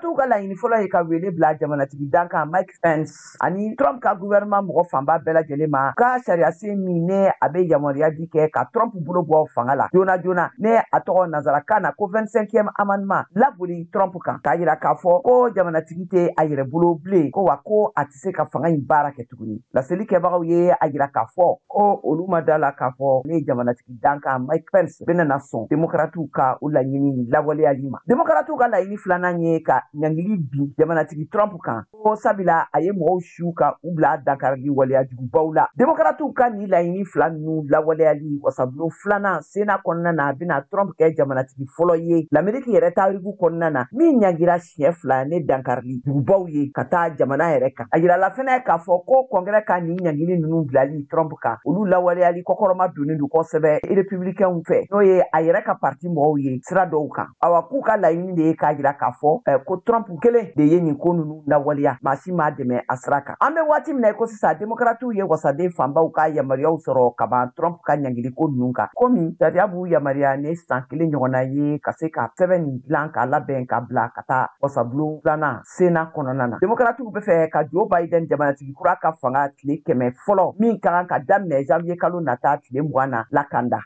Démocrates ka laɲini fɔlɔ ye ka wele bila jamanatigi dan kan Mike Pence ani Trump ka gouvernement mɔgɔ fanba bɛɛ lajɛlen ma ka sariya sen min ne a bɛ yamaruya di kɛ ka Trump bolo bɔ fanga la joona ne a tɔgɔ nazarakan na ko 25e amendement laboli Trump kan k'a yira k'a fɔ ko jamanatigi tɛ a yɛrɛ bolo bilen ko wa ko a tɛ se ka fanga in baara kɛ tuguni laseli kɛbagaw ye a yira k'a fɔ ko olu ma da la k'a fɔ ne jamanatigi dan kan Mike Pence bɛna sɔn Démocrates ka u laɲini lawaleyali ma Démocrates ka laɲini filanan ye ka ɲangili bin jamanatigi Trump kan ko sabila a ye mɔgɔw su ka u bila dakarili waleyajugubaw la Démocrates ka ni laɲini fila ninnu lawaleyali wasabulon filanan Sénat kɔnɔna na a bɛna Trump kɛ jamanatigi fɔlɔ ye l'Amérique yɛrɛ taariku kɔnɔna na min ɲangira siɲɛ fila ne dankarili jugubaw ye ka taa jamana yɛrɛ kan a yirala fɛnɛ k'a fɔ ko Congrès ka ni ɲangili ninnu bilali Trump kan olu lawaleyali kɔkɔrɔma donnen don kosɛbɛ républicains fɛ n'o ye a yɛrɛ ka parti mɔgɔw ye sira dɔw kan awa k'u ka laɲini de ye k'a yira k'a fɔ ko Trump kelen de ye nin ko ninnu lawaleya maa si m'a dɛmɛ a sira kan an bɛ waati min na ko sisan Démocrates ye wasaden fanbaw ka yamaruyaw sɔrɔ ka ban Trump ka ɲangili ko ninnu kan komi sariya b'u yamaruya ne san 1 ɲɔgɔnna ye ka se ka sɛbɛn nin dilan k'a labɛn ka bila ka taa wasabulon filanan Sénat kɔnɔna na Démocrates bɛ fɛ ka Joe Biden jamanatigi kura ka fanga tile 100 fɔlɔ min ka kan ka daminɛ janvier kalo nata tile 20 na lakanda